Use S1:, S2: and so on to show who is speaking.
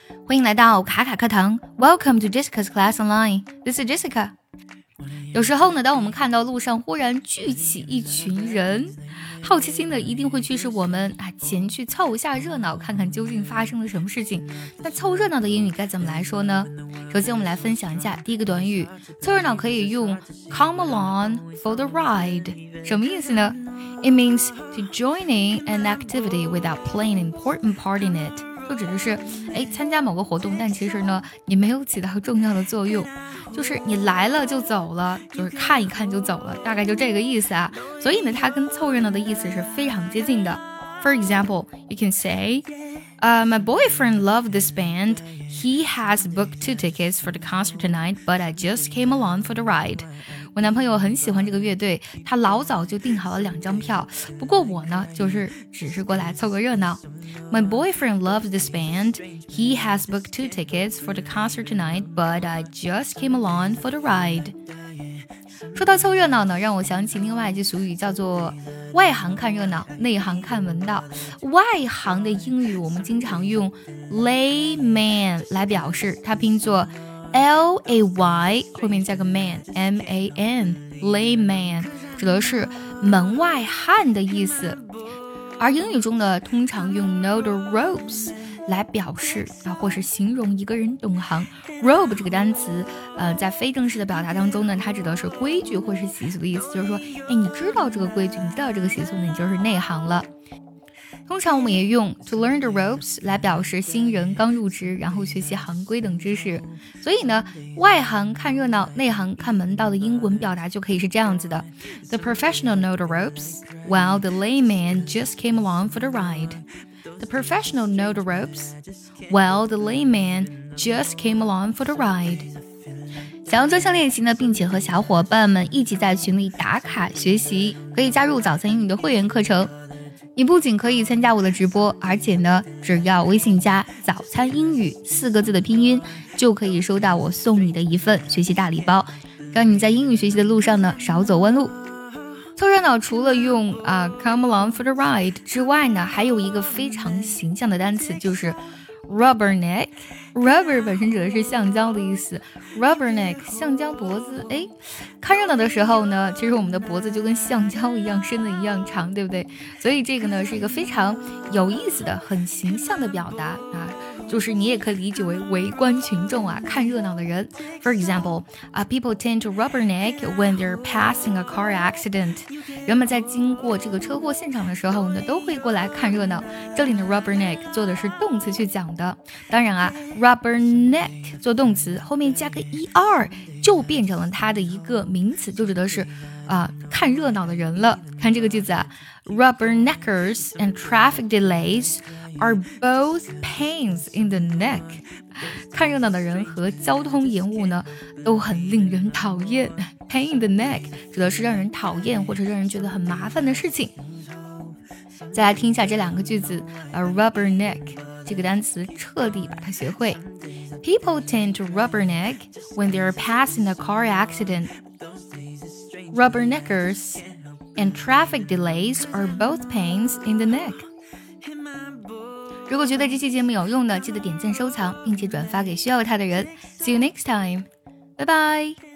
S1: 欢迎来到卡卡课堂 Welcome to Jessica's Class Online. This is Jessica. 有时候呢，当我们看到路上忽然聚起一群人，好奇心呢一定会驱使我们前去凑一下热闹，看看究竟发生了什么事情。那凑热闹的英语该怎么来说呢？首先我们来分享一下第一个短语，凑热闹可以用 come along for the ride。 什么意思呢？ It means to join in an activity without playing an important part in it， 就指的是参加某个活动，但其实呢你没有起到重要的作用，就是你来了就走了，就是看一看就走了，大概就这个意思啊。所以呢它跟凑热闹的意思是非常接近的。 For example, you can say my boyfriend loved this band. He has booked 2 tickets for the concert tonight, but I just came along for the ride. 我男朋友很喜欢这个乐队，他老早就订好了2张票，不过我呢只是过来凑个热闹。 My boyfriend loves this band. He has booked 2 tickets for the concert tonight, but I just came along for the ride. 说到凑热闹呢，让我想起另外一句俗语，叫做外行看热闹，内行看门道。外行的英语我们经常用 layman 来表示，它拼作 L-A-Y 后面加个 man M-A-N layman， 指的是门外汉的意思。而英语中呢，通常用 know the ropes 来表示或是形容一个人懂行。 rope 这个单词在非正式的表达当中呢，它指的是规矩或是习俗的意思，就是说你知道这个规矩，你知道这个习俗呢，你就是内行了。通常我们也用 to learn the ropes 来表示新人刚入职，然后学习行规等知识。所以呢，外行看热闹，内行看门道的英文表达就可以是这样子的。 The professional know the ropes, while the layman just came along for the ride. The professional know the ropes, while the layman just came along for the ride. 想要专项练习呢，并且和小伙伴们一起在群里打卡学习，可以加入早餐英语的会员课程。你不仅可以参加我的直播，而且呢，只要微信加早餐英语4个字的拼音，就可以收到我送你的一份学习大礼包，让你在英语学习的路上呢少走弯路。凑热闹除了用come along for the ride 之外呢，还有一个非常形象的单词，就是 rubberneck。 rubber 本身指的是橡胶的意思， rubberneck 橡胶脖子。看热闹的时候呢，其实我们的脖子就跟橡胶一样，伸的一样长，对不对？所以这个呢是一个非常有意思的很形象的表达就是你也可以理解为围观群众看热闹的人。 For example, people tend to rubberneck when they're passing a car accident. 人们在经过这个车祸现场的时候呢，都会过来看热闹。这里的 rubberneck 做的是动词去讲的，当然rubberneck 做动词后面加个 er 就变成了它的一个名词，就指的是看热闹的人了。看这个句子Rubberneckers and traffic delays are both pains in the neck. 看热闹的人和交通延误呢都很令人讨厌。 Pain in the neck 指的是让人讨厌或者让人觉得很麻烦的事情。再来听一下这2个句子rubberneck 这个单词彻底把它学会。 People tend to rubberneck when they're passing a car accident. Rubberneckers and traffic delays are both pains in the neck. 如果觉得这期节目有用的，记得点赞收藏，并且转发给需要它的人。See you next time. Bye bye.